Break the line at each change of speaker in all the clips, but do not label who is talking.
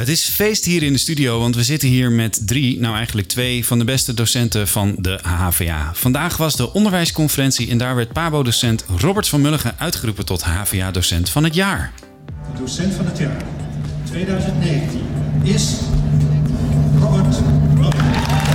Het is feest hier in de studio, want we zitten hier met 2 van de beste docenten van de HVA. Vandaag was de onderwijsconferentie en daar werd PABO-docent Robert van Mulligen uitgeroepen tot HVA-docent van het jaar.
De docent van het jaar 2019 is Robert Mulligen.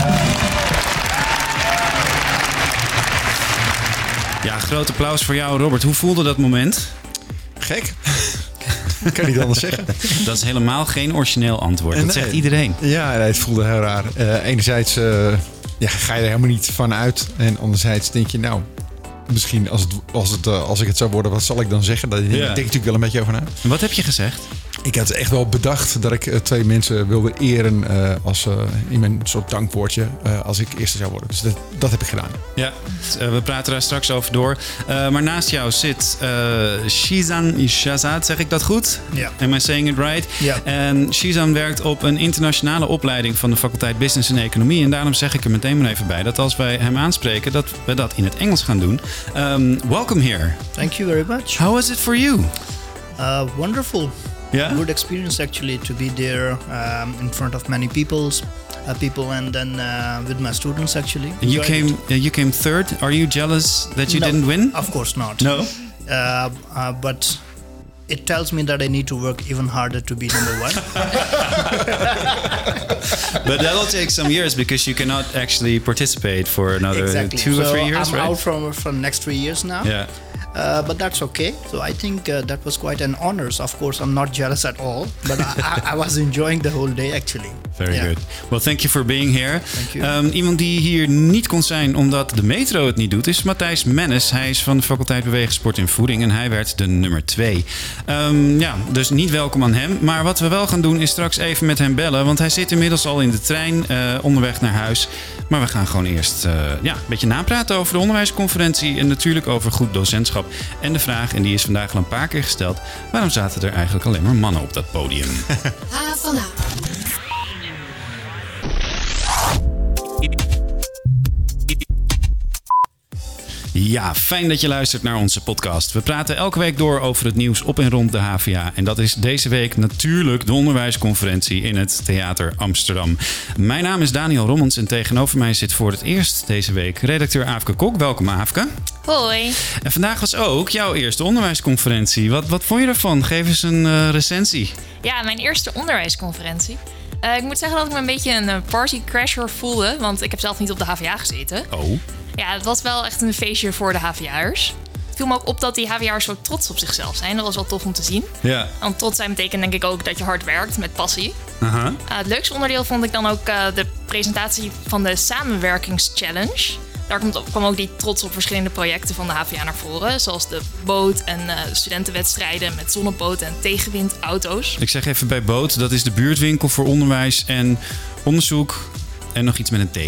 Ja, groot applaus voor jou, Robert. Hoe voelde dat moment?
Gek. Ik kan niet anders zeggen.
Dat is helemaal geen origineel antwoord. Dat zegt iedereen.
Ja, het voelde heel raar. Enerzijds ga je er helemaal niet van uit. En anderzijds denk je, nou, misschien als ik het zou worden, wat zal ik dan zeggen? Daar denk ik natuurlijk wel een beetje over na.
Wat heb je gezegd?
Ik had echt wel bedacht dat ik 2 mensen wilde eren in mijn soort dankwoordje als ik eerste zou worden. Dus dat heb ik gedaan.
Ja, we praten daar straks over door. Maar naast jou zit Shizan Shazad, zeg ik dat goed?
Ja.
Am I saying it right?
Ja.
En Shizan werkt op een internationale opleiding van de faculteit Business en Economie. En daarom zeg ik er meteen maar even bij dat als wij hem aanspreken, dat we dat in het Engels gaan doen. Welcome here.
Thank you very much.
How was it for you?
Wonderful.
Yeah?
Good experience actually to be there in front of many people and then with my students actually.
You came third. Are you jealous that you didn't win?
Of course not.
No?
But it tells me that I need to work even harder to be number 1.
But that will take some years because you cannot actually participate for another 2 or 3 years,
I'm
right?
out from next 3 years now.
Yeah.
But that's okay. So I think that was quite an honor. So of course, I'm not jealous at all. But I was enjoying the whole day actually.
Very good. Well, thank you for being here.
Thank you.
Iemand die hier niet kon zijn omdat de metro het niet doet, is Matthijs Mennis. Hij is van de faculteit Bewegen, Sport en Voeding en hij werd de nummer 2. Dus niet welkom aan hem. Maar wat we wel gaan doen is straks even met hem bellen. Want hij zit inmiddels al in de trein onderweg naar huis. Maar we gaan gewoon eerst een beetje napraten over de onderwijsconferentie en natuurlijk over goed docentschap. En de vraag, en die is vandaag al een paar keer gesteld, waarom zaten er eigenlijk alleen maar mannen op dat podium? Ja, fijn dat je luistert naar onze podcast. We praten elke week door over het nieuws op en rond de HVA. En dat is deze week natuurlijk de onderwijsconferentie in het Theater Amsterdam. Mijn naam is Daniel Rommens en tegenover mij zit voor het eerst deze week redacteur Aafke Kok. Welkom Aafke.
Hoi.
En vandaag was ook jouw eerste onderwijsconferentie. Wat vond je ervan? Geef eens een recensie.
Ja, mijn eerste onderwijsconferentie. Ik moet zeggen dat ik me een beetje een partycrasher voelde, want ik heb zelf niet op de HVA gezeten.
Oh.
Ja, het was wel echt een feestje voor de HVA'ers. Het viel me ook op dat die HVA'ers zo trots op zichzelf zijn. Dat was wel tof om te zien.
Ja.
Want trots zijn betekent denk ik ook dat je hard werkt met passie.
Uh-huh.
Het leukste onderdeel vond ik dan ook de presentatie van de samenwerkingschallenge. Daar kwam ook die trots op verschillende projecten van de HVA naar voren. Zoals de boot en studentenwedstrijden met zonneboten en tegenwindauto's.
Ik zeg even bij boot, dat is de buurtwinkel voor onderwijs en onderzoek. En nog iets met een T.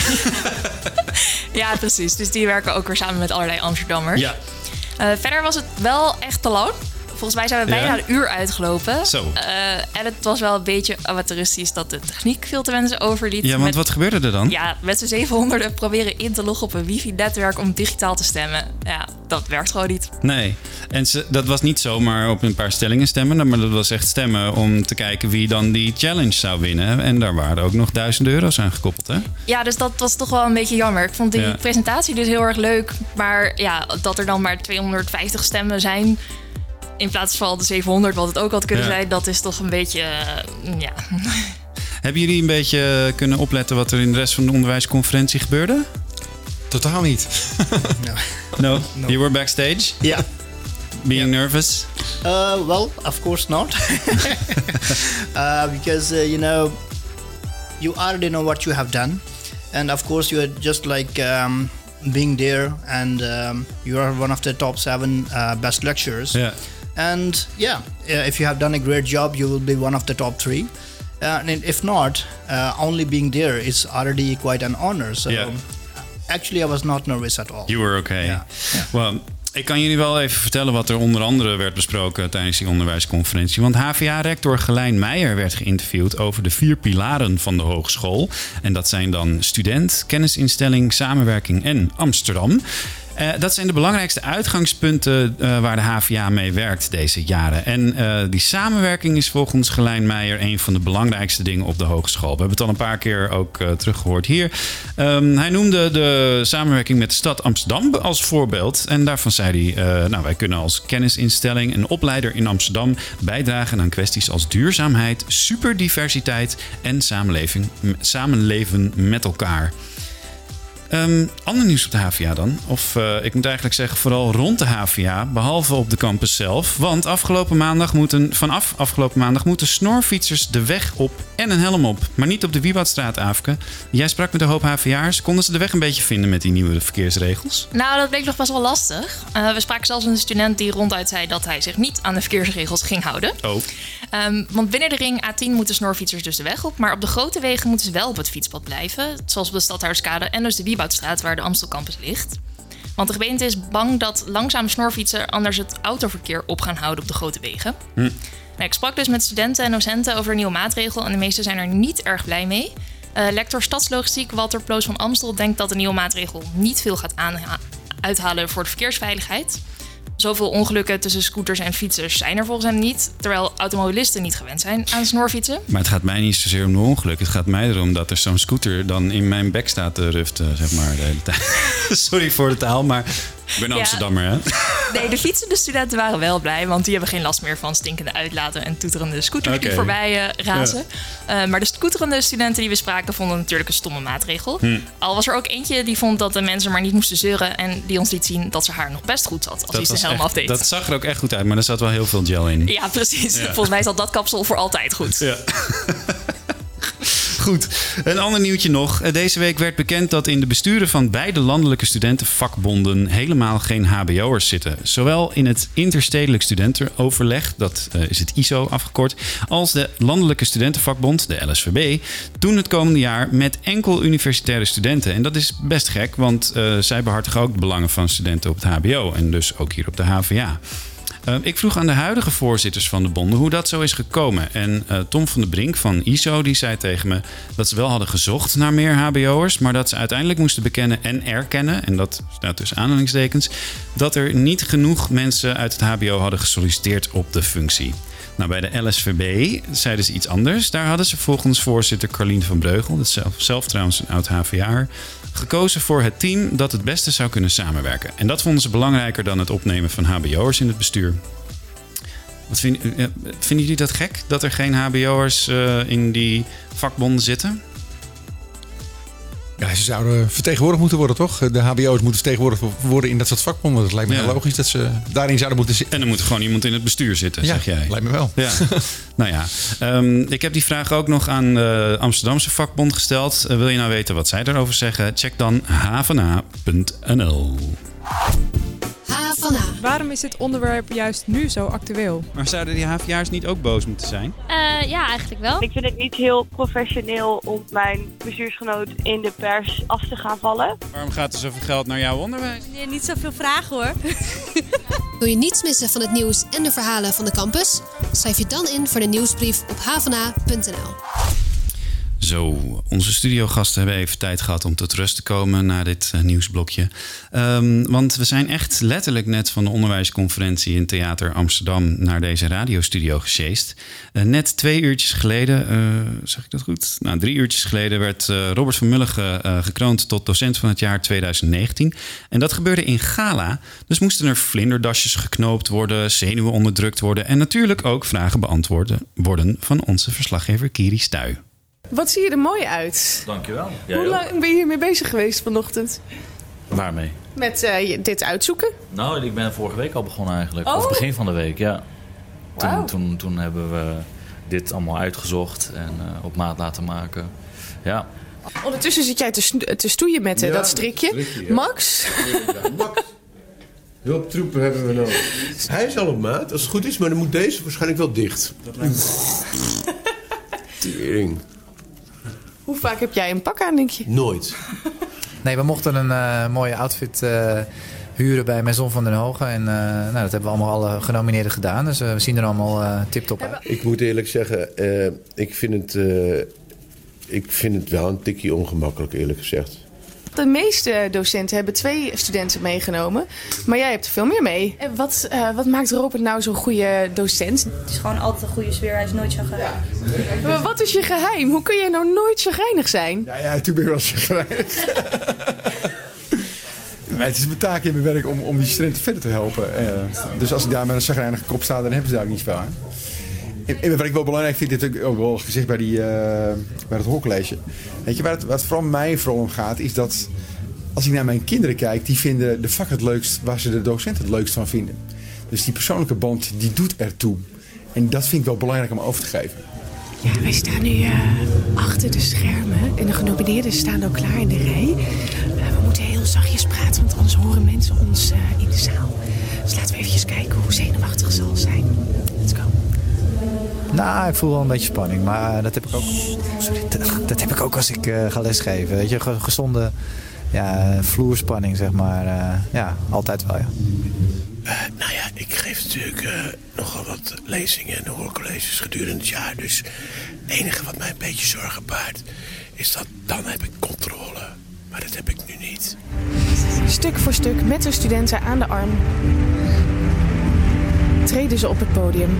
Ja, precies. Dus die werken ook weer samen met allerlei Amsterdammers.
Ja.
Verder was het wel echt te lang. Volgens mij zijn we bijna een uur uitgelopen.
Zo.
En het was wel een beetje amateuristisch dat de techniek veel te wensen overliet.
Ja, want wat gebeurde er dan?
Ja, met z'n 700 proberen in te loggen op een wifi-netwerk om digitaal te stemmen. Ja, dat werkt gewoon niet.
Nee. En dat was niet zomaar op een paar stellingen stemmen, maar dat was echt stemmen om te kijken wie dan die challenge zou winnen. En daar waren ook nog €1000 aan gekoppeld, hè?
Ja, dus dat was toch wel een beetje jammer. Ik vond die presentatie dus heel erg leuk. Maar ja, dat er dan maar 250 stemmen zijn in plaats van de 700, wat het ook had kunnen zijn, dat is toch een beetje,
Hebben jullie een beetje kunnen opletten wat er in de rest van de onderwijsconferentie gebeurde?
Totaal niet.
No? You were backstage?
Yeah.
Being nervous?
Well, of course not. Because, you already know what you have done. And of course, you are just like being there and you are one of the top 7 best lecturers.
Yeah.
And if you have done a great job, you will be one of the top 3. And if not, only being there is already quite an honor. So actually, I was not nervous at all.
You were okay.
Yeah.
Well, ik kan jullie wel even vertellen wat er onder andere werd besproken tijdens die onderwijsconferentie. Want HVA-rector Gelijn Meijer werd geïnterviewd over de 4 pilaren van de hogeschool. En dat zijn dan student, kennisinstelling, samenwerking en Amsterdam. Dat zijn de belangrijkste uitgangspunten waar de HVA mee werkt deze jaren. En die samenwerking is volgens Gelijn Meijer een van de belangrijkste dingen op de hogeschool. We hebben het al een paar keer ook teruggehoord hier. Hij noemde de samenwerking met de stad Amsterdam als voorbeeld. En daarvan zei hij, wij kunnen als kennisinstelling en opleider in Amsterdam bijdragen aan kwesties als duurzaamheid, superdiversiteit en samenleven met elkaar. Ander nieuws op de HVA dan. Of ik moet eigenlijk zeggen vooral rond de HVA, behalve op de campus zelf. Want vanaf afgelopen maandag moeten snorfietsers de weg op en een helm op. Maar niet op de Wieboudstraat, Aafke. Jij sprak met een hoop HVA'ers. Konden ze de weg een beetje vinden met die nieuwe verkeersregels?
Nou, dat bleek nog best wel lastig. We spraken zelfs een student die ronduit zei dat hij zich niet aan de verkeersregels ging houden.
Oh.
Want binnen de ring A10 moeten snorfietsers dus de weg op. Maar op de grote wegen moeten ze wel op het fietspad blijven. Zoals op de Stadhouderskade en dus de Wieboudstraat waar de Amstel Campus ligt. Want de gemeente is bang dat langzame snorfietsen anders het autoverkeer op gaan houden op de grote wegen. Ik sprak dus met studenten en docenten over een nieuwe maatregel en de meesten zijn er niet erg blij mee. Lector Stadslogistiek Walter Ploos van Amstel denkt dat de nieuwe maatregel niet veel gaat uithalen voor de verkeersveiligheid. Zoveel ongelukken tussen scooters en fietsers zijn er volgens hem niet, terwijl automobilisten niet gewend zijn aan snorfietsen.
Maar het gaat mij niet zozeer om de ongeluk. Het gaat mij erom dat er zo'n scooter dan in mijn bek staat te ruften, zeg maar, de hele tijd. Sorry voor de taal, maar ik ben Amsterdammer, hè?
Nee, de fietsende studenten waren wel blij, want die hebben geen last meer van stinkende uitlaten en toeterende scooters die voorbij razen. Ja. Maar de scooterende studenten die we spraken vonden het natuurlijk een stomme maatregel. Al was er ook eentje die vond dat de mensen maar niet moesten zeuren en die ons liet zien dat ze haar nog best goed zat als hij zijn helm afdeed.
Dat zag er ook echt goed uit, maar er zat wel heel veel gel in.
Ja, precies. Ja. Volgens mij zat dat kapsel voor altijd goed.
Ja. Goed, een ander nieuwtje nog. Deze week werd bekend dat in de besturen van beide landelijke studentenvakbonden helemaal geen hbo'ers zitten. Zowel in het interstedelijk studentenoverleg, dat is het ISO afgekort, als de landelijke studentenvakbond, de LSVB, doen het komende jaar met enkel universitaire studenten. En dat is best gek, want zij behartigen ook de belangen van studenten op het hbo en dus ook hier op de HVA. Ik vroeg aan de huidige voorzitters van de bonden hoe dat zo is gekomen. En Tom van der Brink van ISO die zei tegen me dat ze wel hadden gezocht naar meer hbo'ers, maar dat ze uiteindelijk moesten bekennen en erkennen, en dat staat tussen aanhalingstekens, dat er niet genoeg mensen uit het hbo hadden gesolliciteerd op de functie. Nou, bij de LSVB zeiden ze iets anders. Daar hadden ze volgens voorzitter Carlien van Breugel, dat is zelf trouwens een oud HVA'er, gekozen voor het team dat het beste zou kunnen samenwerken. En dat vonden ze belangrijker dan het opnemen van hbo'ers in het bestuur. Vinden jullie dat gek, dat er geen hbo'ers in die vakbonden zitten?
Ja, ze zouden vertegenwoordigd moeten worden, toch? De hbo'ers moeten vertegenwoordigd worden in dat soort vakbonden. Dat lijkt me heel logisch dat ze daarin zouden moeten zitten.
En er moet gewoon iemand in het bestuur zitten, zeg jij.
Lijkt me wel.
Ja. Nou ja, ik heb die vraag ook nog aan de Amsterdamse vakbond gesteld. Wil je nou weten wat zij daarover zeggen? Check dan hvna.nl.
Waarom is dit onderwerp juist nu zo actueel?
Maar zouden die HVA'ers niet ook boos moeten zijn?
Ja, eigenlijk wel.
Ik vind het niet heel professioneel om mijn bestuursgenoot in de pers af te gaan vallen.
Waarom gaat er zoveel geld naar jouw onderwijs?
Nee, niet zoveel vragen hoor.
Wil je niets missen van het nieuws en de verhalen van de campus? Schrijf je dan in voor de nieuwsbrief op hvna.nl.
Zo, onze studiogasten hebben even tijd gehad om tot rust te komen na dit nieuwsblokje. Want we zijn echt letterlijk net van de onderwijsconferentie in Theater Amsterdam naar deze radiostudio gesjeest. Net 2 uurtjes geleden, zeg ik dat goed? 3 uurtjes geleden werd Robert van Mulligen gekroond tot docent van het jaar 2019. En dat gebeurde in Gala. Dus moesten er vlinderdasjes geknoopt worden, zenuwen onderdrukt worden en natuurlijk ook vragen beantwoord worden van onze verslaggever Kiri Stuy.
Wat zie je er mooi uit.
Dankjewel.
Hoe lang ben je hiermee bezig geweest vanochtend?
Waarmee?
Met dit uitzoeken?
Nou, ik ben vorige week al begonnen eigenlijk.
Oh.
Of begin van de week, ja.
Wow.
Toen hebben we dit allemaal uitgezocht en op maat laten maken. Ja.
Ondertussen zit jij te stoeien met dat strikje. Ja. Max?
Ja, Max. Hulptroepen hebben we nodig. Hij is al op maat, als het goed is, maar dan moet deze waarschijnlijk wel dicht. Dat lijkt me. Tering.
Hoe vaak heb jij een pak aan, denk je?
Nooit.
Nee, we mochten een mooie outfit huren bij Maison van den Hogen. En dat hebben we allemaal alle genomineerden gedaan. Dus we zien er allemaal tip-top uit.
Ik moet eerlijk zeggen, ik vind het wel een tikje ongemakkelijk, eerlijk gezegd.
De meeste docenten hebben 2 studenten meegenomen. Maar jij hebt er veel meer mee. En wat maakt Robert nou zo'n goede docent?
Het is gewoon altijd een goede sfeer. Hij is nooit chagrijnig.
Maar wat is je geheim? Hoe kun jij nou nooit chagrijnig zijn?
Ja, natuurlijk ben ik wel chagrijnig. Maar het is mijn taak in mijn werk om die studenten verder te helpen. Dus als ik daar met een chagrijnige kop sta, dan hebben ze daar ook niet veel aan. En wat ik wel belangrijk vind, dit heb ik ook wel gezegd bij het hoorcollege. Weet je, waar het vooral mij om gaat, is dat als ik naar mijn kinderen kijk, die vinden de vak het leukst waar ze de docent het leukst van vinden. Dus die persoonlijke band, die doet ertoe. En dat vind ik wel belangrijk om over te geven.
Ja, wij staan nu achter de schermen en de genomineerden staan ook klaar in de rij. We moeten heel zachtjes praten, want anders horen mensen ons in de zaal. Dus laten we eventjes kijken hoe zenuwachtig ze zal zijn. Let's go.
Nou, ik voel wel een beetje spanning, maar dat heb ik ook. Dat heb ik ook als ik ga lesgeven. Weet je, gezonde vloerspanning, zeg maar. Altijd wel, ja.
Nou ja, ik geef natuurlijk nogal wat lezingen en hoorcolleges gedurende het jaar. Dus het enige wat mij een beetje zorgen baart, is dat dan heb ik controle. Maar dat heb ik nu niet.
Stuk voor stuk met de studenten aan de arm treden ze op het podium.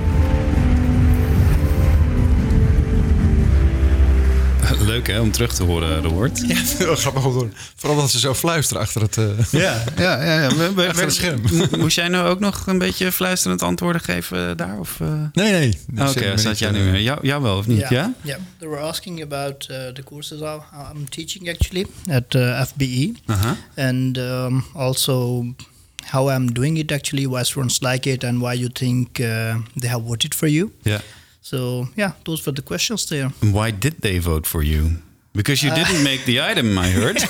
Leuk hè, om terug te horen, Robert.
Ja, heel grappig om te horen. Vooral dat ze zo fluisteren achter het achter het scherm.
Moest jij nou ook nog een beetje fluisterend antwoorden geven daar? Of?
Nee.
Oké, zat jij nu jou wel of niet? Ja?
Yeah. They were asking about the courses I'm teaching actually at FBE. And also how I'm doing it actually, why students like it and why you think they have voted for you.
Yeah.
So, those were the questions there.
Why did they vote for you? Because you didn't make the item, I heard.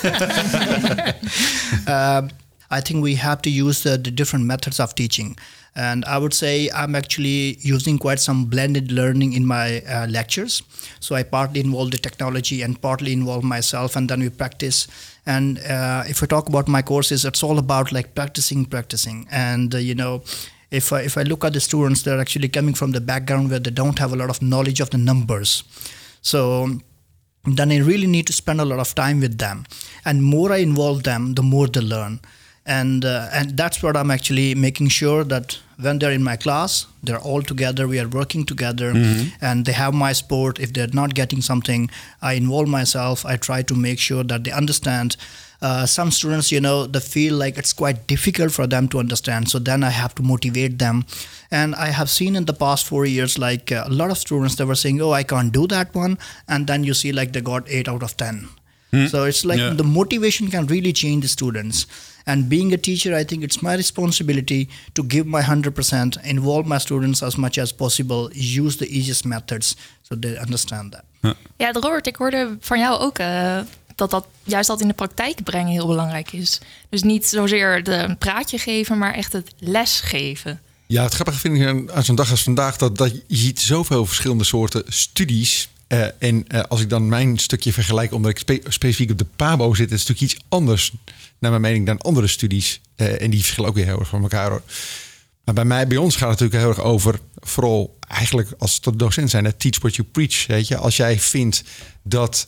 I think we have to use the different methods of teaching. And I would say I'm actually using quite some blended learning in my lectures. So I partly involve the technology and partly involve myself, and then we practice. And if we talk about my courses, it's all about like practicing. And, if I look at the students, they're actually coming from the background where they don't have a lot of knowledge of the numbers. So then I really need to spend a lot of time with them. And more I involve them, the more they learn. And that's what I'm actually making sure that when they're in my class, they're all together, we are working together, and they have my support. If they're not getting something, I involve myself. I try to make sure that they understand. Some students, they feel like it's quite difficult for them to understand. So then I have to motivate them. And I have seen in the past 4 years, like a lot of students, they were saying, I can't do that one. And then you see like they got 8 out of 10. So it's like the motivation can really change the students. And being a teacher, I think it's my responsibility to give my 100%, involve my students as much as possible, use the easiest methods so they understand that.
Ja, Robert, ik hoorde van jou ook dat juist dat in de praktijk brengen heel belangrijk is. Dus niet zozeer een praatje geven, maar echt het lesgeven.
Ja, het grappige vind ik aan zo'n dag als vandaag dat je ziet zoveel verschillende soorten studies. Als ik dan mijn stukje vergelijk, omdat ik specifiek op de PABO zit, is het natuurlijk iets anders, naar mijn mening, dan andere studies. En die verschillen ook weer heel erg van elkaar, hoor. Maar bij ons gaat het natuurlijk heel erg over, vooral eigenlijk als docent zijn, teach what you preach. Weet je? Als jij vindt dat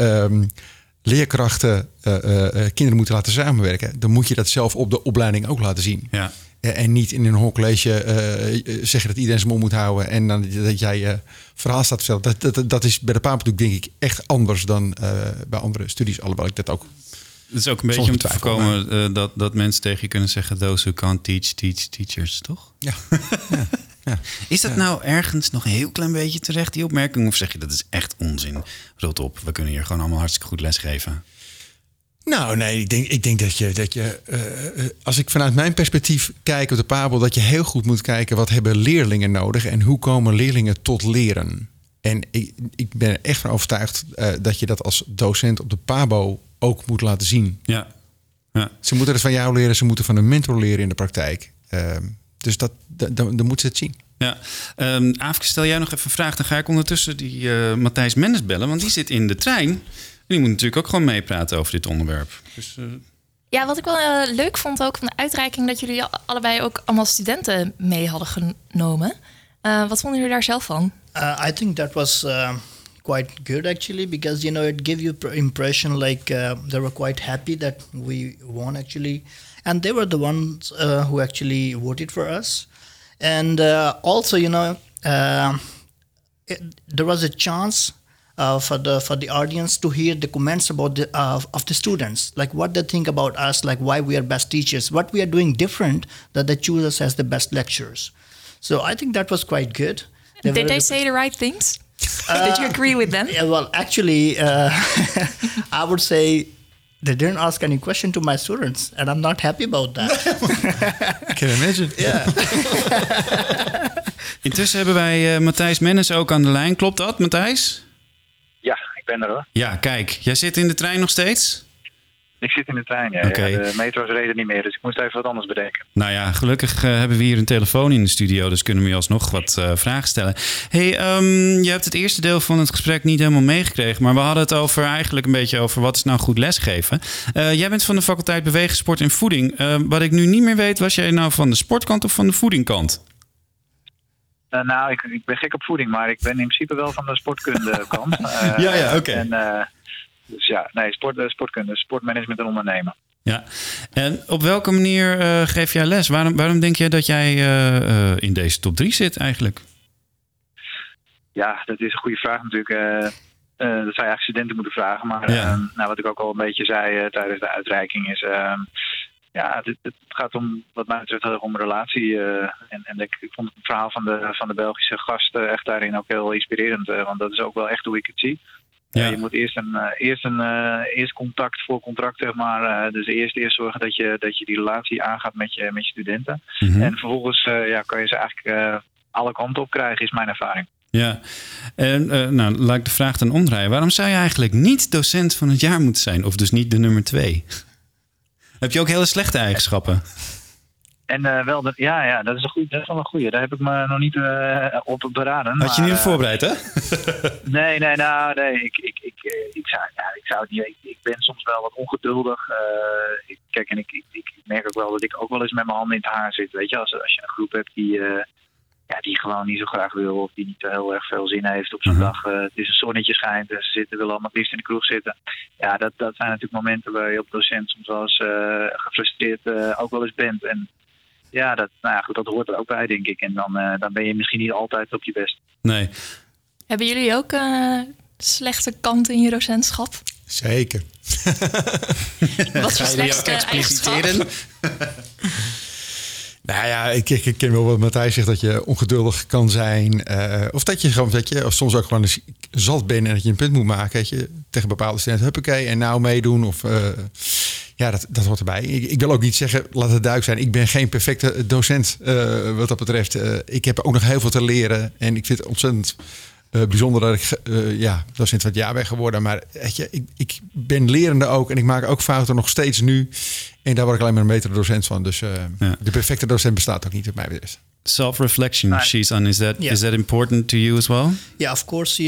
leerkrachten kinderen moeten laten samenwerken, dan moet je dat zelf op de opleiding ook laten zien. Ja. En niet in een hoorcollege zeggen dat iedereen zijn mond moet houden en dan dat jij verhaal staat te vertellen. Dat is bij de PABO denk ik echt anders dan bij andere studies. Alhoewel ik dat ook.
Het is ook een beetje om te voorkomen dat mensen tegen je kunnen zeggen, those who can't teach teachers, toch?
Ja.
Ja. Is dat nou ergens nog een heel klein beetje terecht, die opmerking? Of zeg je dat is echt onzin? Rot op, we kunnen hier gewoon allemaal hartstikke goed lesgeven.
Nou, nee, ik denk dat je als ik vanuit mijn perspectief kijk op de PABO, dat je heel goed moet kijken wat hebben leerlingen nodig en hoe komen leerlingen tot leren. En ik ben er echt van overtuigd dat je dat als docent op de PABO ook moet laten zien.
Ja.
Ze moeten het van jou leren, ze moeten van een mentor leren in de praktijk. Dus dan moeten ze het zien.
Ja, Aafke, stel jij nog even een vraag. Dan ga ik ondertussen die Matthijs Mennis bellen, want die zit in de trein. En die moet natuurlijk ook gewoon meepraten over dit onderwerp. Dus,
Ja, wat ik wel leuk vond ook van de uitreiking, dat jullie allebei ook allemaal studenten mee hadden genomen. Wat vonden jullie daar zelf van?
I think that was quite good actually, because it gave you impression like they were quite happy that we won actually, and they were the ones who actually voted for us. And also, there was a chance for the audience to hear the comments about of the students, like what they think about us, like why we are best teachers, what we are doing different that they choose us as the best lecturers. So I think that was quite good.
Did they say the right things? Did you agree with them?
Yeah, well, actually, I would say they didn't ask any question to my students, and I'm not happy about that.
I can imagine.
Yeah.
Intussen hebben wij Matthijs Mennis ook aan de lijn. Klopt dat, Matthijs?
Ja, ik ben er hoor.
Ja, kijk. Jij zit in de trein nog steeds?
Ik zit in de trein, ja.
Okay.
Ja, de metro's reden niet meer, dus ik moest even wat anders bedenken.
Nou ja, gelukkig hebben we hier een telefoon in de studio, dus kunnen we je alsnog wat vragen stellen. Hey, je hebt het eerste deel van het gesprek niet helemaal meegekregen, maar we hadden het eigenlijk een beetje over wat is nou goed lesgeven. Jij bent van de faculteit Bewegen, Sport en Voeding. Wat ik nu niet meer weet, was jij nou van de sportkant of van de voedingkant?
Nou, ik ben gek op voeding, maar ik ben in principe wel van de sportkundekant.
Ja, oké.
Dus ja, nee, sportkunde, sportmanagement en ondernemen.
Ja, en op welke manier geef jij les? Waarom denk je dat jij in deze top 3 zit eigenlijk?
Ja, dat is een goede vraag natuurlijk. Dat zou je eigenlijk studenten moeten vragen. Maar wat ik ook al een beetje zei tijdens de uitreiking is... het gaat om, wat mij betreft, om relatie. Ik vond het verhaal van de Belgische gast echt daarin ook heel inspirerend. Want dat is ook wel echt hoe ik het zie. Ja. Je moet eerst contact voor contract, zeg maar. Dus eerst zorgen dat je die relatie aangaat met je studenten. Mm-hmm. En vervolgens kan je ze eigenlijk alle kanten op krijgen, is mijn ervaring.
Ja, en laat ik de vraag dan omdraaien. Waarom zou je eigenlijk niet docent van het jaar moeten zijn? Of dus niet de nummer 2? Heb je ook hele slechte eigenschappen?
En dat is wel een goeie. Daar heb ik me nog niet op beraden.
Had je niet op voorbereid, hè?
Nee. Ik zou het niet. Ik ben soms wel wat ongeduldig. Ik merk ook wel dat ik ook wel eens met mijn handen in het haar zit. Weet je, als je een groep hebt die gewoon niet zo graag wil, of die niet heel erg veel zin heeft op zo'n dag. Het is een zonnetje schijnt en ze willen allemaal het liefst in de kroeg zitten. Ja, dat zijn natuurlijk momenten waar je op docent soms wel eens gefrustreerd ook wel eens bent. En ja, dat hoort er ook bij, denk ik. En dan ben je misschien niet altijd op je best.
Nee.
Hebben jullie ook slechte kanten in je docentschap?
Zeker.
Wat voor slechtste eigenschap?
Nou ja, ik ken wel wat Matthijs zegt, dat je ongeduldig kan zijn. Of dat je gewoon, of soms ook gewoon zat bent en dat je een punt moet maken. Dat je tegen bepaalde studenten, huppakee, en nou meedoen. Of dat hoort erbij. Ik wil ook niet zeggen, laat het duidelijk zijn, ik ben geen perfecte docent wat dat betreft. Ik heb ook nog heel veel te leren. En ik vind het ontzettend bijzonder dat ik docent van het jaar ben geworden. Maar weet je, ik ben lerende ook en ik maak ook fouten nog steeds nu. En daar word ik alleen maar een betere docent van. Dus de perfecte docent bestaat ook niet, op mij betreft.
Self-reflection, Shizan, is that important to you as well?
Yeah, of course.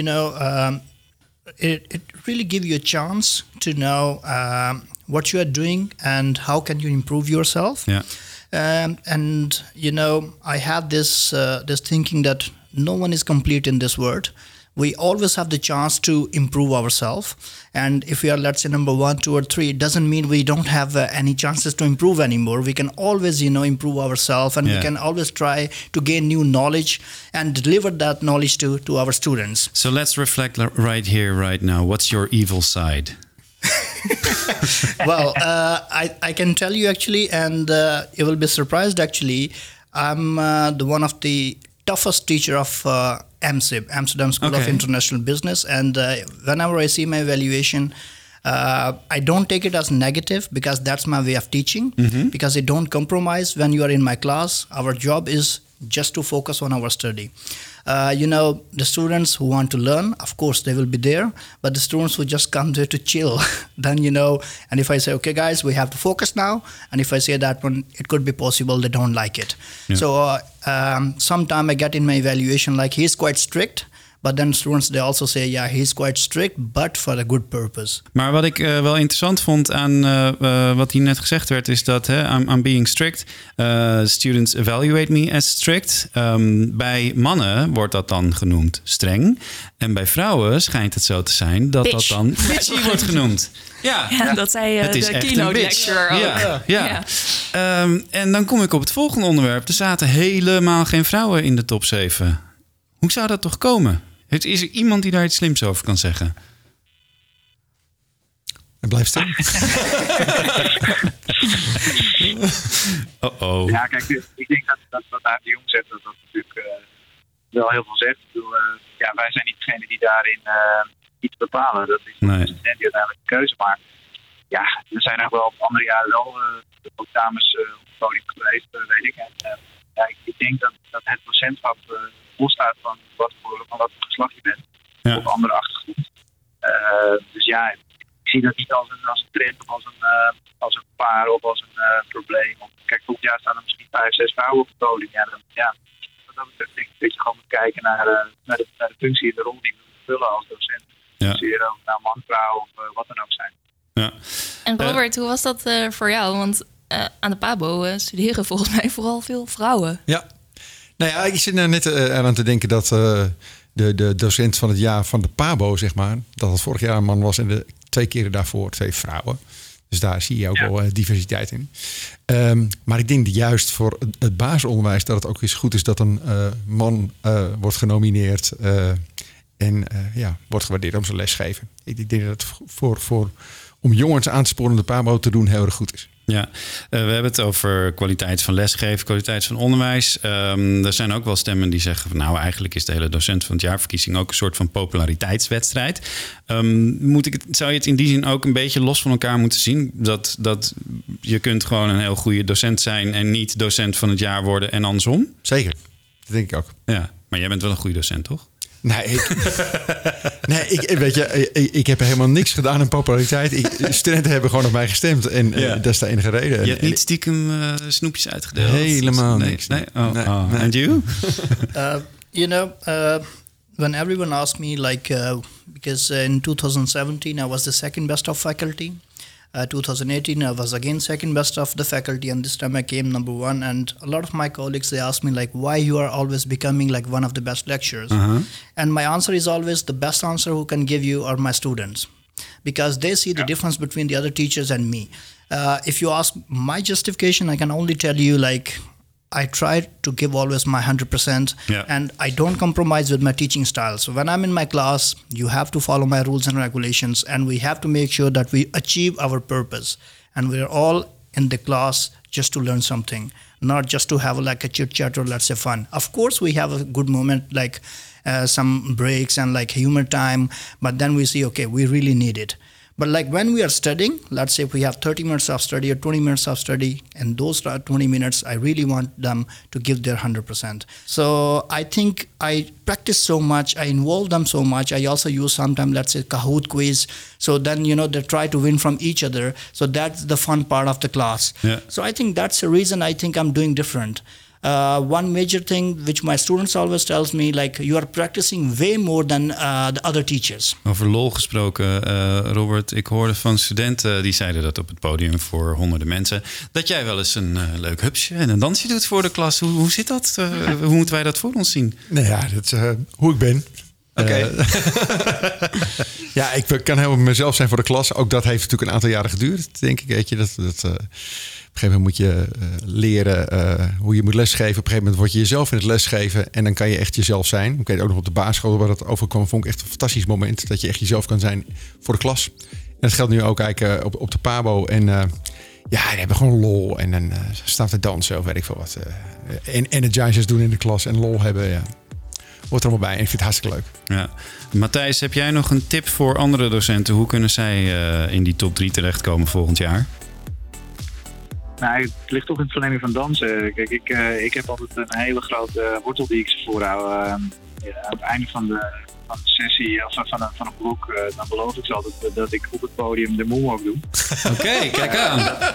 It really gives you a chance to know what you are doing and how can you improve yourself.
Yeah.
And I have this thinking that no one is complete in this world. We always have the chance to improve ourselves. And if we are, let's say, number 1, 2, or 3, it doesn't mean we don't have any chances to improve anymore. We can always, improve ourselves, and we can always try to gain new knowledge and deliver that knowledge to our students.
So let's reflect right here, right now. What's your evil side?
Well, I can tell you actually, and you will be surprised actually. I'm the one of the toughest teacher of AMSIB, Amsterdam School of International Business. And whenever I see my evaluation, I don't take it as negative because that's my way of teaching. Mm-hmm. Because I don't compromise when you are in my class. Our job is just to focus on our study. The students who want to learn, of course, they will be there. But the students who just come there to chill, then, and if I say, okay, guys, we have to focus now. And if I say that one, it could be possible they don't like it. Yeah. So sometime I get in my evaluation, like he's quite strict, But then students, they also say, yeah, he's quite strict, but for a good purpose.
Maar wat ik wel interessant vond aan wat hier net gezegd werd, is dat I'm being strict. Students evaluate me as strict. Bij mannen wordt dat dan genoemd streng. En bij vrouwen schijnt het zo te zijn dat dat dan bitchy wordt genoemd.
Ja, dat zei de keynote lecturer ook.
Ja. En dan kom ik op het volgende onderwerp. Er zaten helemaal geen vrouwen in de top 7. Hoe zou dat toch komen? Is er iemand die daar iets slims over kan zeggen?
En blijf stil.
Ja, kijk, ik denk dat wat Aart de Jong zegt, dat natuurlijk wel heel veel zegt. Ik bedoel, wij zijn niet degene die daarin iets bepalen. Dat is de student die uiteindelijk de keuze maakt. Ja, er zijn nog wel op andere jaren wel ook dames op het podium geweest, weet ik. En ik denk dat het docentschap losstaat van wat voor geslacht je bent. Of andere achtergrond. Dus ja, ik zie dat niet als een trend of als een paar of als een probleem. Kijk, volgend jaar staan er misschien 5, 6 vrouwen op het podium. Wat dat betreft denk ik dat je gewoon moet kijken naar de functie en de rol die we vullen als docent. Dus of nou man, vrouw of wat dan ook zijn.
Ja. En Robert, hoe was dat voor jou? Want aan de PABO studeren volgens mij vooral veel vrouwen.
Ja. Nou ja, ik zit net aan te denken dat de docent van het jaar van de PABO, zeg maar, dat het vorig jaar een man was en de 2 keren daarvoor 2 vrouwen. Dus daar zie je ook wel diversiteit in. Maar ik denk juist voor het basisonderwijs dat het ook eens goed is dat een man wordt genomineerd en wordt gewaardeerd om zijn lesgeven. Ik denk dat het om jongens aan te sporen om de PABO te doen heel erg goed is.
Ja, we hebben het over kwaliteit van lesgeven, kwaliteit van onderwijs. Er zijn ook wel stemmen die zeggen van nou, eigenlijk is de hele docent van het jaarverkiezing ook een soort van populariteitswedstrijd. Zou je het in die zin ook een beetje los van elkaar moeten zien? Dat je kunt gewoon een heel goede docent zijn en niet docent van het jaar worden en andersom?
Zeker, dat denk ik ook.
Ja, maar jij bent wel een goede docent, toch?
Nee, ik heb helemaal niks gedaan aan populariteit. Studenten hebben gewoon op mij gestemd. En dat is de enige reden.
Je hebt niet stiekem snoepjes uitgedeeld?
Helemaal niks.
Nee. And you?
When everyone asked me, because in 2017 I was the second best of faculty. 2018 I was again second best of the faculty, and this time I came number 1. And a lot of my colleagues, they ask me why you are always becoming one of the best lecturers. And my answer is always the best answer who can give you are my students, because they see the difference between the other teachers and me. If you ask my justification, I can only tell you I try to give always my 100%, and I don't compromise with my teaching style. So when I'm in my class, you have to follow my rules and regulations, and we have to make sure that we achieve our purpose. And we're all in the class just to learn something, not just to have a chit-chat or let's say fun. Of course, we have a good moment some breaks and humor time, but then we see, okay, we really need it. But when we are studying, let's say if we have 30 minutes of study or 20 minutes of study, and those 20 minutes, I really want them to give their 100%. So I think I practice so much, I involve them so much. I also use sometimes, let's say, Kahoot quiz. So then, they try to win from each other. So that's the fun part of the class. Yeah. So I think that's the reason I think I'm doing different. One major thing which my students always tells me, you are practicing way more than the other teachers.
Over lol gesproken, Robert, ik hoorde van studenten die zeiden dat op het podium voor honderden mensen, dat jij wel eens een leuk hupsje en een dansje doet voor de klas. Hoe zit dat? Hoe moeten wij dat voor ons zien?
Nou ja, dat is hoe ik ben.
Oké.
Ja, ik kan helemaal mezelf zijn voor de klas. Ook dat heeft natuurlijk een aantal jaren geduurd, denk ik. Weet je, op een gegeven moment moet je leren hoe je moet lesgeven. Op een gegeven moment word je jezelf in het lesgeven. En dan kan je echt jezelf zijn. Ik weet ook nog op de basisschool waar dat overkwam. Vond ik echt een fantastisch moment. Dat je echt jezelf kan zijn voor de klas. En dat geldt nu ook eigenlijk op de PABO. En die hebben gewoon lol. En dan staan te dansen of weet ik veel wat. En energizers doen in de klas. En lol hebben, hoort er allemaal bij. En ik vind het hartstikke leuk.
Ja. Matthijs, heb jij nog een tip voor andere docenten? Hoe kunnen zij in die top 3 terechtkomen volgend jaar?
Nou, het ligt toch in het verlenging van dansen. Kijk, ik heb altijd een hele grote wortel die ik ze voorhoud. Aan het einde van de sessie of van een blok, dan beloof ik ze altijd dat ik op het podium de moonwalk doe.
Oké, kijk aan.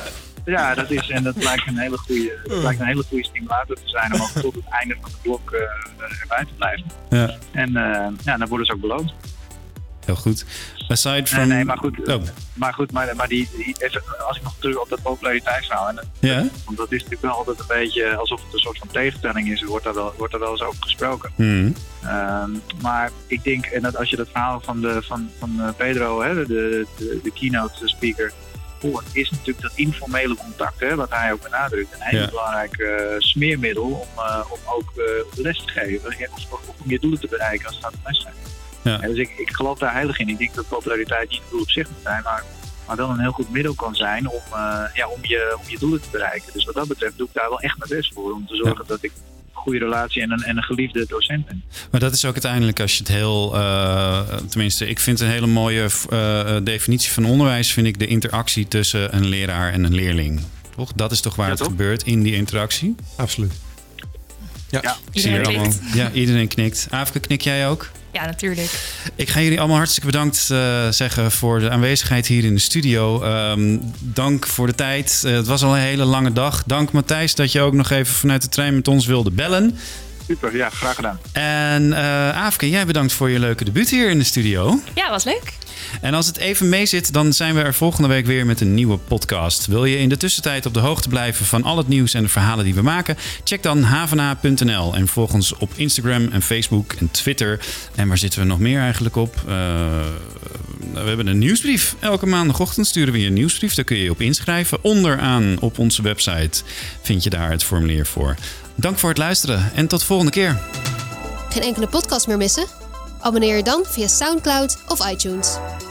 Ja, dat lijkt een hele goede stimulator te zijn om ook tot het einde van de blok erbij te blijven.
Ja.
En dan worden ze ook beloond.
Heel goed. Aside from...
Nee, maar goed. Oh. Maar die even, als ik nog terug op dat populariteitsverhaal. Want dat is natuurlijk wel altijd een beetje alsof het een soort van tegenstelling is. Wordt er wel eens over gesproken. Maar ik denk, en dat als je dat verhaal van Pedro, hè, de keynote speaker, hoort, is natuurlijk dat informele contact, hè, wat hij ook benadrukt, een heel belangrijk smeermiddel om ook les te geven. Of om je doelen te bereiken als het gaat om les zijn. Ja. Dus ik geloof daar heilig in. Ik denk dat populariteit niet een doel op zich moet zijn, maar wel een heel goed middel kan zijn om je doelen te bereiken. Dus wat dat betreft doe ik daar wel echt mijn best voor. Om te zorgen dat ik een goede relatie en een geliefde docent ben.
Maar dat is ook uiteindelijk als je het heel... tenminste, ik vind een hele mooie definitie van onderwijs, vind ik de interactie tussen een leraar en een leerling. Toch? Dat is toch waar het gebeurt in die interactie?
Absoluut.
Ja. Iedereen knikt. Ja, iedereen knikt. Aafke, knik jij ook?
Ja, natuurlijk.
Ik ga jullie allemaal hartstikke bedankt zeggen voor de aanwezigheid hier in de studio. Dank voor de tijd. Het was al een hele lange dag. Dank Matthijs dat je ook nog even vanuit de trein met ons wilde bellen.
Super, ja, graag gedaan.
En Aafke, jij bedankt voor je leuke debuut hier in de studio.
Ja, was leuk.
En als het even mee zit, dan zijn we er volgende week weer met een nieuwe podcast. Wil je in de tussentijd op de hoogte blijven van al het nieuws en de verhalen die we maken? Check dan havana.nl en volg ons op Instagram en Facebook en Twitter. En waar zitten we nog meer eigenlijk op? We hebben een nieuwsbrief. Elke maandagochtend sturen we je een nieuwsbrief. Daar kun je je op inschrijven. Onderaan op onze website vind je daar het formulier voor. Dank voor het luisteren en tot de volgende keer.
Geen enkele podcast meer missen? Abonneer je dan via SoundCloud of iTunes.